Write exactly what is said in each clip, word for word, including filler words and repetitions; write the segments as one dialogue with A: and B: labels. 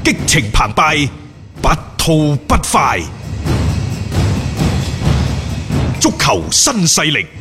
A: 激情澎湃，不吐不快。足球新勢力。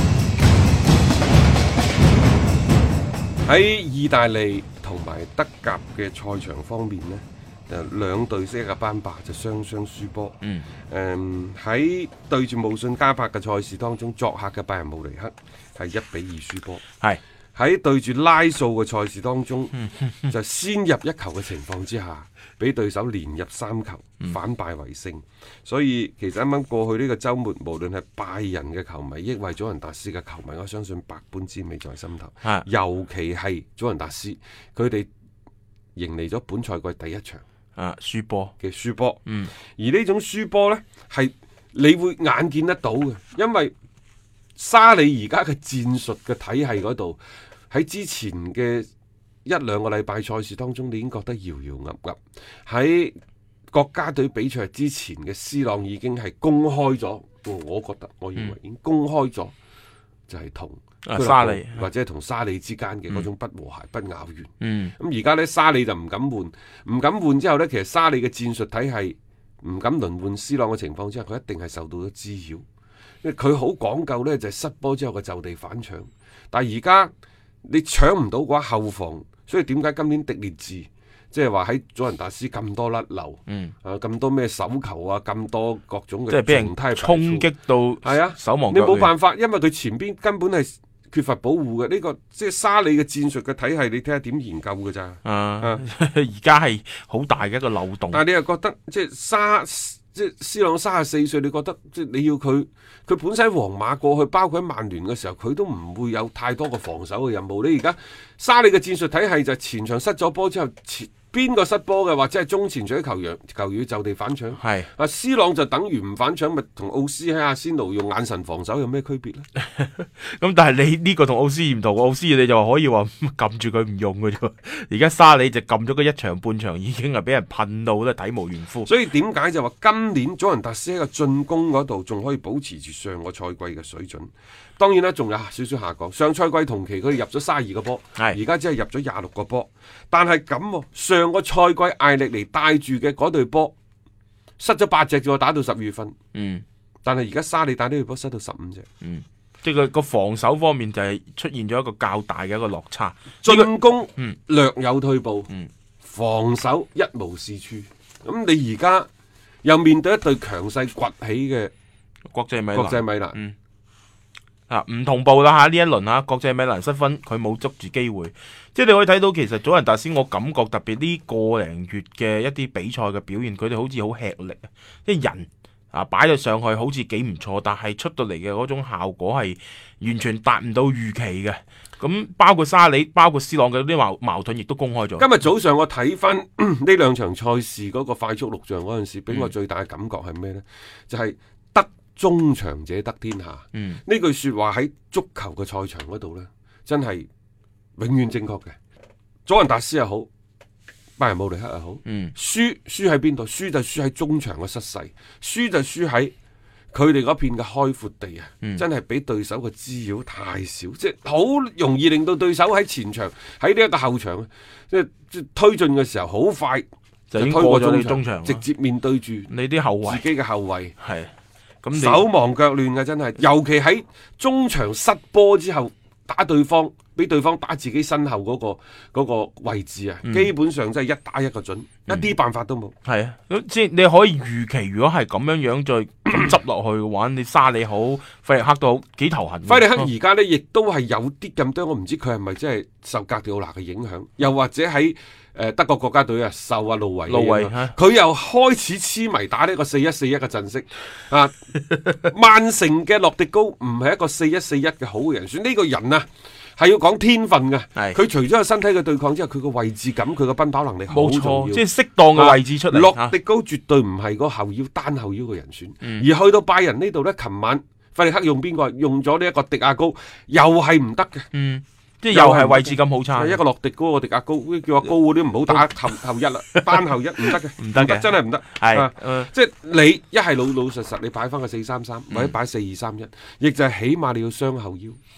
B: 喺意大利同埋德甲嘅賽場方面呢，就兩隊昔日嘅班霸就雙雙輸波。嗯，喺、嗯、對住慕遜加柏嘅賽事當中，作客嘅拜仁慕尼克係一比二輸波。係喺對住拉素嘅賽事當中，嗯、就先入一球嘅情況之下，俾對手連入三球，嗯、反敗為勝。所以其實啱啱過去呢個週末，無論係拜仁嘅球迷，抑或祖雲達斯嘅球迷，我相信百般滋味在心頭。啊、尤其係祖雲達斯，佢哋迎嚟咗本賽季第一場啊輸波嘅輸波。嗯，而呢種輸波呢，係你會眼見得到嘅，因為沙里而家嘅戰術嘅體系嗰度，喺之前嘅一兩個禮拜賽事當中，你已經覺得搖搖噏噏。喺國家隊比賽之前嘅 C 朗已經係公開咗，我覺得我認為已經公開咗，嗯、就係同沙利或者係同沙利之間嘅嗰種不和諧、嗯、不咬弦。咁而家呢，沙利就唔敢換，唔敢換之後呢，其實沙利嘅戰術體系唔敢輪換 C 朗嘅情況之下，佢一定係受到咗滋擾。因為佢好講究呢，就係、是、失波之後嘅就地反搶，但係而家你搶唔到嘅話後防，所以點解今年迪列治即係話喺祖雲達斯咁多甩漏，嗯、啊咁多咩手球啊，咁多各種嘅
C: 即係俾人衝擊到係啊手忙腳亂，
B: 你冇辦法，因為佢前邊根本係缺乏保護嘅。呢、這個即係沙里嘅戰術嘅體系，你睇下點研究㗎咋？啊，
C: 而家係好大嘅一個漏洞。
B: 但係你又覺得即係沙？即係 C 朗三十四歲，你覺得即係你要佢，佢本身皇馬過去，包括喺曼聯嘅時候，佢都唔會有太多嘅防守嘅任務。你而家沙利嘅戰術體系就係前場失咗波之後，前邊個失波嘅或者係中前場啲球員球員就地反搶。係啊 C 朗就等於唔反搶，咪同奧斯喺阿仙奴用眼神防守有咩區別呢？
C: 咁但係你呢個同奧斯唔同，奧斯你就可以話撳住佢唔用嘅啫。而家沙利就撳咗佢一場半場，已經係俾人噴到咧體無完膚。
B: 所以點解就話今年祖雲達斯喺個進攻嗰度仲可以保持住上個賽季嘅水準？當然啦，仲有少少下降。上賽季同期佢哋入咗卅二個波，而家只係入咗廿六個波。但係咁，上個賽季艾力尼帶住嘅嗰隊波失咗八隻，就打到十月份。嗯，但係而家沙利帶呢隊波失到十五隻。嗯，
C: 即係個個防守方面就係出現咗一個較大嘅一個落差。
B: 進攻嗯略有退步，嗯，防守一無是處。咁你而家又面對一隊強勢崛起嘅
C: 國際米蘭，
B: 國際米蘭，
C: 嗯。啊，唔同步啦吓，呢一輪吓，國際米蘭失分，佢冇捉住機會，即係你可以睇到，其實祖雲達斯我感覺特別呢個零月嘅一啲比賽嘅表現，佢哋好似好吃力啊，即係人啊擺咗上去好似幾唔錯，但係出到嚟嘅嗰種效果係完全達唔到預期嘅。咁包括沙里、包括C朗嘅啲矛矛盾，亦都公開咗。
B: 今日早上我睇翻呢兩場賽事嗰個快速錄像嗰陣時，俾我最大嘅感覺係咩呢？嗯、就係、是。中場者得天下，呢、嗯、句說話喺足球嘅賽場嗰度呢，真係永遠正確嘅。祖雲達斯又好，拜仁慕尼黑又好，嗯、輸輸喺邊度？輸就輸喺中場嘅失勢，輸就輸喺佢哋嗰片嘅開闊地啊！嗯、真係俾對手嘅滋擾太少，即係好容易令到對手喺前場喺呢一個後場，即係推進嘅時候好快就推過咗你中場，直接面對住
C: 你啲後衛，
B: 自己嘅後衛
C: 係。
B: 手忙腳亂嘅真係，尤其喺中場失波之後打對方，俾對方打自己身後嗰、嗰個、嗰個位置啊，嗯、基本上真係一打一個準，嗯、一啲辦法都冇。係啊，
C: 即係你可以預期，如果係咁樣樣再咁執落去嘅話，你沙利好，費力克都好，幾頭痕。
B: 費力克而家呢，亦都係有啲咁多，我唔知佢係咪真係受格迪奧拿嘅影響，又或者喺。誒，德國國家隊啊，受啊路維，
C: 路維
B: 佢又開始痴迷打呢個四一四一嘅陣式啊！曼城嘅洛迪高唔係一個四一四一嘅好嘅人選，呢、這個人啊係要講天分嘅。佢是除咗有身體嘅對抗之後，佢個位置感、佢個奔跑能力好重要，
C: 即係適當嘅位置出嚟。
B: 洛、啊、迪高絕對唔係個後腰單後腰嘅人選，嗯、而去到拜仁呢度呢，琴晚費力克用邊個？用咗呢一個迪亞高，又係唔得嘅。嗯
C: 即係又係位置咁好差，
B: 一個洛迪高，一個迪亞高，叫阿高嗰啲唔好打後後一啦，單後一唔得嘅，唔得嘅，真係唔得。係，啊嗯、即係你一係老老實實，你擺翻個四三三，或者擺四二三一，亦就係起碼你要雙後腰，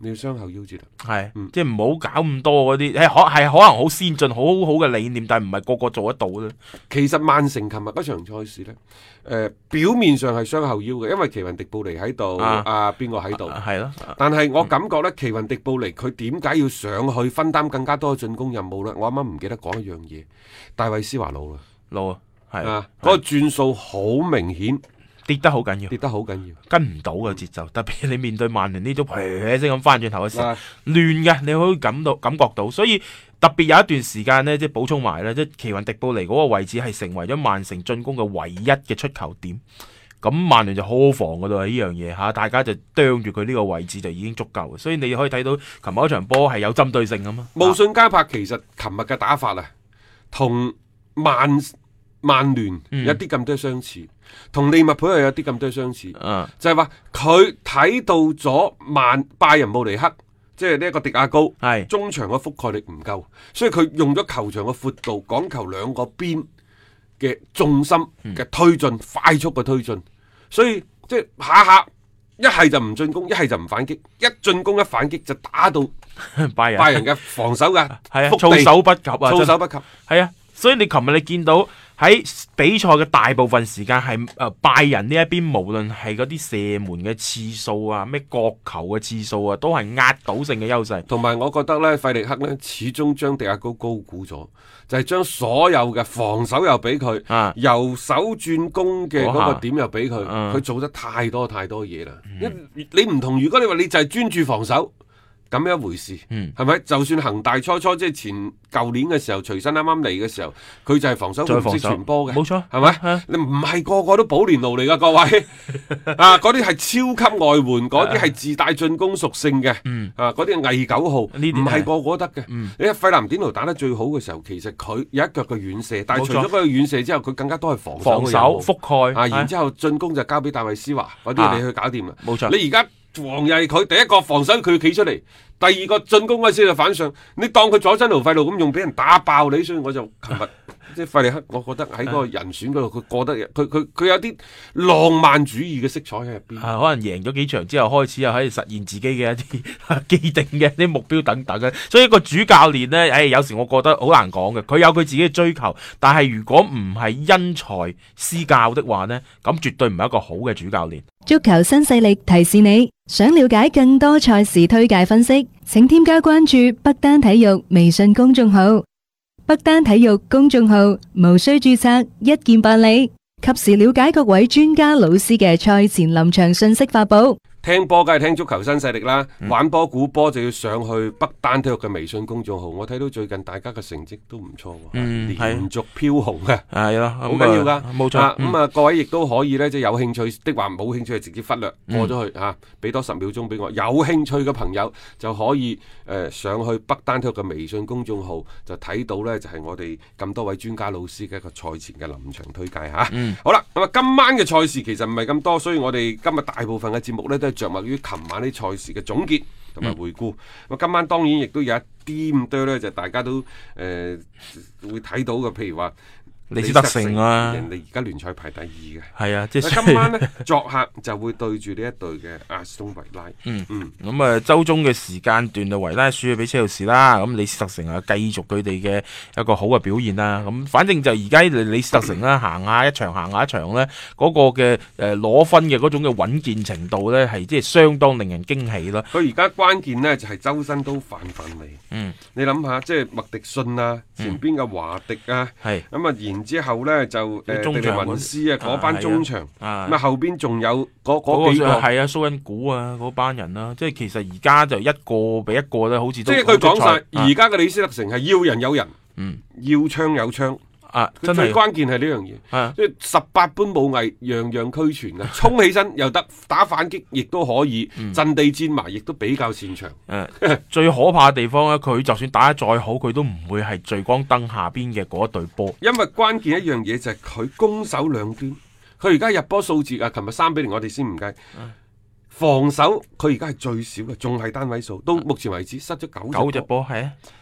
B: 你要雙後腰至得。
C: 係，
B: 嗯、
C: 即係唔好搞咁多嗰啲，係可係可能好先進、好好嘅理念，但係唔係個個做得到咧。
B: 其實曼城琴日嗰場賽事呢，誒、呃、表面上係雙後腰嘅，因為奇雲迪布尼喺度，啊邊個喺度，
C: 係咯。
B: 但係我感覺呢，奇雲迪布尼佢點解要上去分擔更加多嘅進攻任務呢？我啱啱唔記得講一樣嘢，戴維斯華路啦，
C: 路啊，係
B: 啊，嗰個轉數好明顯。
C: 跌得好緊要，
B: 跌得好緊要，
C: 跟唔到嘅節奏，特別你面對曼聯呢種嘭嘭聲咁翻轉頭嘅時候，
B: 啊、
C: 亂嘅，你可以感到感覺到，所以特別有一段時間呢，即係補充埋咧，即係奇雲迪布尼嗰個位置係成為咗曼城進攻嘅唯一嘅出球點，咁曼聯就好好防噶啦呢樣嘢吓，大家就啄住佢呢個位置就已經足夠，所以你可以睇到琴日嗰場波係有針對性咁啊。
B: 慕遜加柏其實琴日嘅打法啊，同曼曼聯有啲咁多相似，同、嗯、利物浦又有啲咁多相似，
C: 嗯、
B: 就係話佢睇到咗曼拜仁慕尼黑，即係呢一個迪亞高，
C: 係
B: 中場嘅覆蓋力唔夠，所以佢用咗球場嘅闊度，講求兩個邊嘅重心嘅推進，嗯、快速嘅推進，所以即係下下一係就唔進攻，一係就唔反擊，一進攻一反擊就打到拜仁拜仁嘅防守嘅
C: 係啊，措手不及啊，
B: 措手不及，
C: 係啊，所以你琴日你見到。喺比賽嘅大部分時間係誒拜仁呢一邊，無論係嗰啲射門嘅次數啊，咩角球嘅次數啊，都係壓倒性嘅優勢。同
B: 埋我覺得咧，費力克咧始終將迪亞高高估咗，就係、是、將所有嘅防守又俾佢，
C: 啊、
B: 由守轉攻嘅嗰個點又俾佢，佢、啊、做得太多太多嘢啦。嗯、你唔同，如果你話你就係專注防守。咁樣一回事，係咪、嗯？就算恒大初初即係前舊年嘅時候，徐新啱啱嚟嘅時候，佢就係防守唔識傳波嘅，
C: 冇錯，
B: 係咪？啊、你唔係個個都保連奴嚟噶，各位啊，嗰啲係超級外援，嗰啲係自帶進攻屬性嘅，
C: 嗯、
B: 啊，嗰啲係偽九號，唔係個個得嘅。
C: 嗯、
B: 你睇費南典奴打得最好嘅時候，其實佢有一腳嘅遠射，但係除咗嗰個遠射之後，佢更加多係防守，
C: 防守覆蓋
B: 啊，然之後進攻就交俾戴維斯華嗰啲，你去搞掂啦。
C: 冇錯，
B: 你而家。王又係佢第一個防守，佢要企出嚟；第二個進攻嗰時就反上。你當佢左真奴費路咁用，俾人打爆你，所以我就琴日即係費利克，我覺得喺嗰個人選嗰度，佢過得佢佢佢有啲浪漫主義嘅色彩喺入邊。
C: 啊，可能贏咗幾場之後，開始又可以實現自己嘅一啲既定嘅啲目標等等嘅。所以一個主教練呢，誒、哎，有時我覺得好難講嘅。佢有佢自己嘅追求，但係如果唔係因材施教的話呢，咁絕對唔係一個好嘅主教練。
D: 足球新勢力提示你，想了解更多賽事推介分析，請添加關注北單體育微信公眾號。北單體育公眾號無需註冊，一鍵辦理，及時了解各位專家老師嘅賽前臨場信息發布。
B: 聽波梗係聽足球新勢力啦，
C: 嗯、
B: 玩波估波就要上去北單體育嘅微信公眾號。我睇到最近大家嘅成績都唔錯，
C: 嗯、
B: 連續飄紅嘅，
C: 係咯，
B: 好緊要噶，
C: 冇錯。
B: 咁、嗯、啊，各位亦都可以呢，即係有興趣的話，冇興趣就直接忽略、
C: 嗯、
B: 過咗去吓，俾、啊、多十秒鐘俾我。有興趣嘅朋友就可以誒、呃、上去北單體育嘅微信公眾號，就睇到呢，就係、是、我哋咁多位專家老師嘅一個賽前嘅臨場推介吓。啊
C: 嗯、
B: 好啦，咁啊今晚嘅賽事其實唔係咁多，所以我哋今日大部分嘅節目呢，都係着墨於琴晚啲賽事嘅總結同埋回顧。咁、嗯、今晚當然亦都有一啲咁多咧，就大家都誒、呃、會睇到嘅，譬如話
C: 李斯特城啊，
B: 人哋而家聯賽排第二嘅，
C: 係啊，即係
B: 今晚呢，作客就會對住呢一隊嘅阿斯頓維拉。
C: 嗯嗯，咁啊周中嘅時間段就維拉輸咗俾車路士啦，咁李斯特城啊繼續佢哋嘅一個好嘅表現啦。咁反正就而家李斯特城啦，行下一場行下一場咧，嗰、那個嘅誒攞分嘅嗰種嘅穩健程度咧，係即係相當令人驚喜啦。
B: 佢而家關鍵呢，就係、是、周身都泛泛嚟。
C: 嗯，
B: 你諗下，即係麥迪遜啊，前邊嘅華迪啊，係咁啊，然之後咧就誒迪利雲斯啊嗰班中場，咁啊，啊後邊仲有嗰嗰幾個
C: 係啊蘇恩古啊嗰班人啦、啊，即係其實而家就一個比一個咧，好似都
B: 即係佢講晒，而家嘅李斯特城係要人有人，
C: 嗯，
B: 要槍有槍。
C: 啊！真
B: 最關鍵係呢樣嘢，即係十八般武藝，樣樣俱全啊！衝起身又得，打反擊亦都可以，陣、嗯、地戰埋亦都比較擅長。誒、
C: 啊，最可怕嘅地方咧，佢就算打得再好，佢都唔會係聚光燈下邊嘅嗰一隊波。
B: 因為關鍵一樣嘢就係佢攻守兩端，佢而家入波數字啊，琴日三比零我哋先唔計，啊、防守佢而家係最少嘅，仲係單位數，到目前為止失咗九
C: 九隻波，係啊。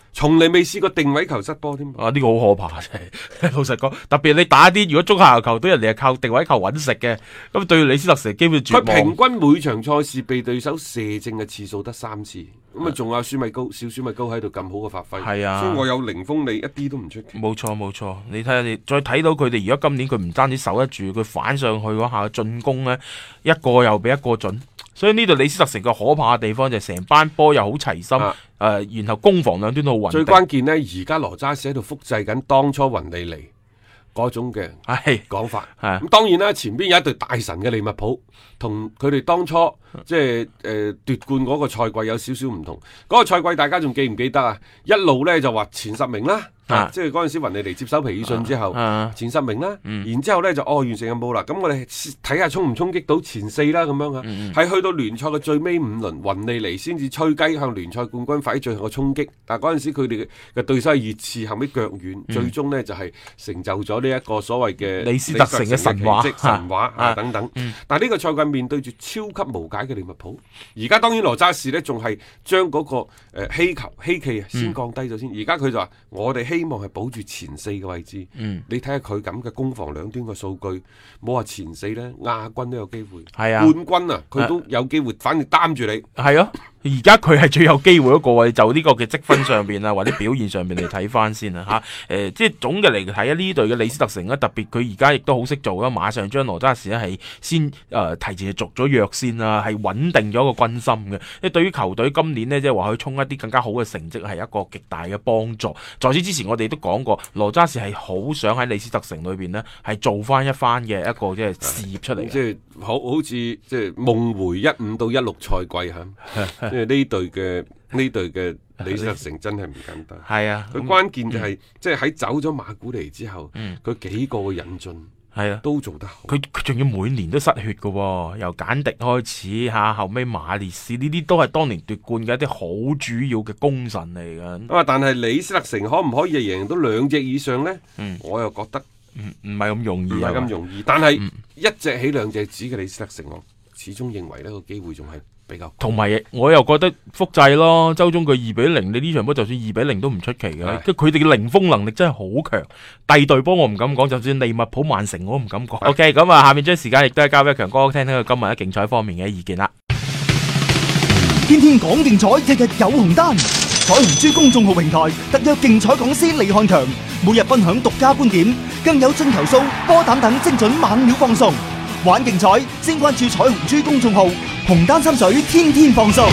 B: 從嚟未試過定位球失波添。
C: 啊，呢、這個好可怕真係。老實講，特別你打啲如果中下游球隊，人哋係靠定位球揾食嘅，咁對李斯特城基本絕望。
B: 佢平均每場賽事被對手射正嘅次數得三次，咁啊仲有舒米高、小舒米高喺度咁好嘅發揮。
C: 係啊，
B: 所以我有零封你一啲都唔出奇。
C: 冇錯冇錯，你睇下你再睇到佢哋，如果今年佢唔單止守得住，佢反上去嗰下進攻呢，一個又比一個準。所以呢度李斯特城個可怕嘅地方就係成班波又好齊心，誒、啊呃，然後攻防兩端都好穩定。
B: 最關鍵呢，而家羅渣士喺度複製緊當初雲利尼嗰種嘅講法。咁當然啦，前邊有一隊大神嘅利物浦，同佢哋當初即係誒奪冠嗰個賽季有少少唔同。嗰、嗰個賽季大家仲記唔記得啊？一路呢就話前十名啦。啊、即係嗰陣時雲尼尼接手皮爾遜之後、啊、前十名啦、嗯、然之後咧就哦完成任務啦，咁我哋睇下衝唔衝擊到前四啦咁樣啊，係、嗯、去到聯賽嘅最尾五輪雲尼尼先至吹雞向聯賽冠軍發起最後嘅衝擊，但係嗰陣時佢哋嘅對手係熱刺，後尾腳軟、嗯、最終呢就係、是、成就咗呢一個所謂嘅
C: 李斯特城嘅神話
B: 神話啊等等、嗯、但係呢個賽季面對住超級無解嘅利物浦，而家當然羅渣士呢仲係將嗰個誒希球希冀啊先降低咗先，而家佢就話我哋希望係保住前四嘅位置，嗯、你睇下佢咁嘅攻防兩端嘅數據，冇話前四呢，亞軍都有機會，係啊，冠軍啊佢都有機會，反正擔住你，
C: 係啊。而家佢係最有機會一個位，就呢個嘅積分上邊啊，或者表現上邊嚟睇翻先啊吓。誒、呃，即係總嘅嚟睇啊，呢隊嘅李斯特城咧，特別佢而家亦都好識做啦，馬上將羅渣士咧係先誒、呃、提前續咗約先啦，係穩定咗個軍心嘅。即係對於球隊今年呢，即係話去衝一啲更加好嘅成績，係一個極大嘅幫助。在此之前，我哋都講過，羅渣士係好想喺李斯特城裏邊呢，係做翻一番嘅一個即係事業出嚟。
B: 即係好好似即係夢回一五到一六賽季吓。因為呢隊嘅呢隊嘅李斯特城真係唔簡單，係啊，佢關鍵就係、是嗯、即係喺走咗馬古尼之後，佢、嗯、幾個嘅引進係啊都做得好，佢佢仲要每年都失血嘅、哦，由簡迪開始吓，後尾馬列斯呢啲都係當年奪冠嘅一啲好主要嘅功臣嚟嘅。咁啊，但係李斯特城可唔可以贏到兩隻以上呢？嗯、我又覺得唔唔係咁容易，唔係咁容易。但係、嗯、一隻起兩隻止嘅李斯特城，我始終認為呢個機會仲係。同埋我又覺得複製咯，周中佢二比零，你呢場波就算二比零都唔出奇嘅，佢哋嘅零封能力真係好強。第二隊波我唔敢講，就算利物浦、曼城我都唔敢講。OK， 咁啊，下面將時間亦都係交俾強哥聽聽佢今日喺競彩方面嘅意見啦。
E: 天天講競彩，日日有紅單。彩虹珠公眾號平台特約競彩講師李漢強，每日分享獨家觀點，更有進球數、波膽等精準猛料放送。玩競彩，先關注彩虹珠公眾號，紅單心水，天天放送。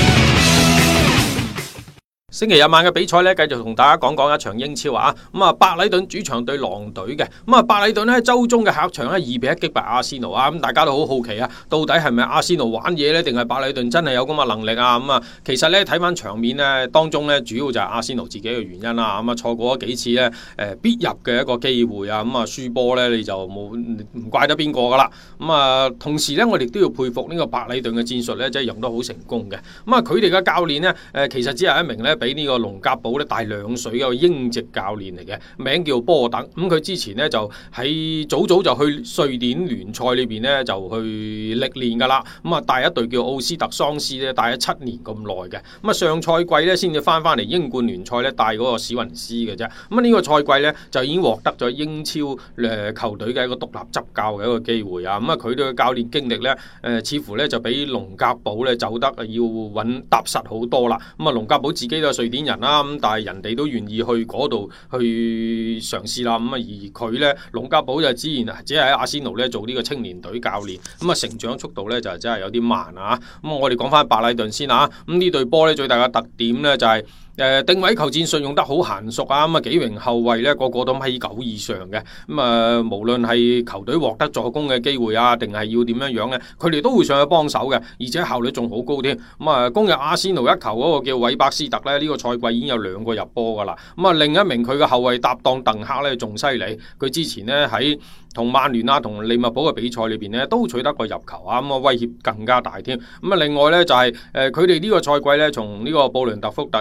F: 星期日晚嘅比賽咧，繼續同大家講講一場英超啊！咁啊，白禮頓主場對狼隊嘅，咁啊，白禮頓咧周中嘅客場咧二比一擊敗阿仙奴啊！咁大家都好好奇啊，到底係咪阿仙奴玩嘢咧，定係白禮頓真係有咁嘅能力啊？咁啊，其實咧睇翻場面咧，當中咧主要就係阿仙奴自己嘅原因啦。咁啊，錯過咗幾次咧，誒必入嘅一個機會啊！咁啊，輸波咧你就冇唔怪得邊個噶啦。咁啊，同時咧我哋都要佩服呢個白禮頓嘅戰術咧，真係用得好成功嘅。咁啊，佢哋嘅教練呢，誒其實只係一名咧俾呢個龍格堡咧大兩水嘅一個英籍教練嚟嘅，名叫波特。咁佢之前呢，就喺早早就去瑞典聯賽裏邊呢，就去歷練噶啦。咁啊帶一隊叫奧斯特桑斯咧帶咗七年咁耐嘅。咁啊上賽季咧先至翻翻嚟英冠聯賽咧帶嗰個史雲斯嘅啫。咁啊呢個賽季咧就已經獲得咗英超誒球隊嘅一個獨立執教嘅一個機會啊。咁啊佢哋嘅教練經歷咧誒、呃、似乎咧就比龍格堡咧走得要穩踏實好多啦。咁啊龍格堡自己都係瑞典人啦，咁但係人哋都願意去嗰度去嘗試啦。咁啊而佢咧龍格堡就自然只係喺阿仙奴咧做呢個青年隊教練，咁啊成長速度咧就真係有啲慢啊。咁我哋講翻白禮頓先啊，咁呢隊波咧最大嘅特點咧就係、是。誒定位球戰術用得好嫻熟啊！咁啊幾名後衞咧個個都米九以上嘅，咁啊無論係球隊獲得助攻嘅機會啊，定係要點樣樣咧，佢哋都會上去幫手嘅，而且效率仲好高添。咁啊攻入阿仙奴一球嗰個叫韋伯斯特咧，呢、呢個賽季已經有兩個入波噶啦。咁啊另一名佢嘅後衞搭檔鄧克咧仲犀利，佢之前咧喺同曼聯啊同利物浦嘅比賽裏邊咧都取得過入球啊，咁啊威脅更加大添。咁啊另外咧就係誒佢哋呢個賽季咧從呢個布倫特福特引進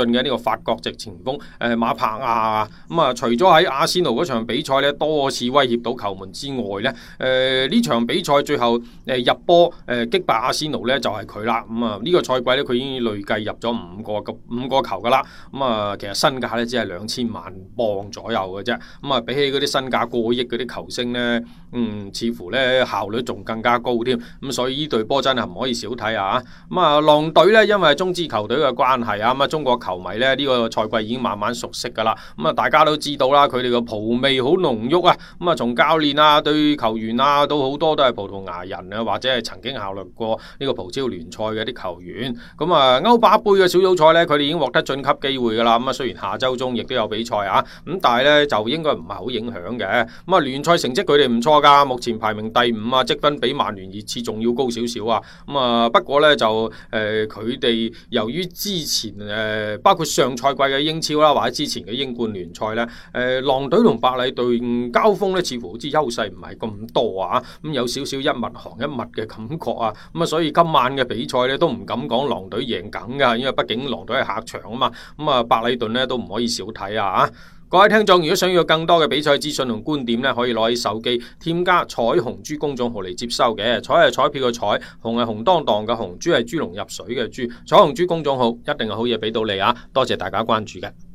F: 嘅呢個法國籍前鋒誒馬帕亞啊。咁啊，除咗喺阿仙奴嗰場比賽咧多次威脅到球門之外咧，誒、呃、呢場比賽最後誒入波誒擊敗阿仙奴咧就係佢啦。咁啊呢個賽季咧佢已經累計入咗五個個五個球噶啦。咁啊其實身價咧只係兩千萬鎊左右嘅啫。咁啊比起嗰啲身價過億嗰啲球星咧，嗯似乎咧效率仲更加高添。咁所以呢隊波真係唔可以少睇啊！咁啊狼隊咧因為中資球隊嘅關係啊，咁啊中國球迷咧呢、這個賽季已經慢慢熟悉噶啦。咁啊大家都知道啦，佢哋個葡味好濃郁啊。咁啊從教練啊對球員啊都好多都係葡萄牙人啊，或者係曾經效力過呢個葡超聯賽嘅啲球員。咁啊歐霸盃嘅小組賽咧，佢哋已經獲得晉級機會噶啦。咁啊雖然下周中亦都有比賽啊，咁但係咧就應該唔係好影響嘅。咁啊聯賽成績佢哋唔錯噶，目前排名第五啊，積分比曼聯熱刺仲要高少少啊。咁啊不過咧就誒佢哋由於之前誒、呃、包括上賽季嘅英超啦，或者之前嘅英冠聯賽咧，誒、呃、狼隊同白禮隊交鋒咧，似乎好似優勢唔係咁多啊。咁有少少一物降一物嘅感覺啊。咁啊所以今晚嘅比賽咧都唔敢講狼隊贏梗噶，因為畢竟狼隊係客場啊嘛。咁啊白禮頓咧都唔可以少睇啊。各位聽眾，如果想要更多嘅比賽資訊同觀點咧，可以攞起手機添加彩虹豬公眾號嚟接收嘅。彩係彩票嘅彩，紅係紅當當嘅紅，豬係豬籠入水嘅豬。彩虹豬公眾號一定係好嘢俾到你啊！多謝大家關注嘅。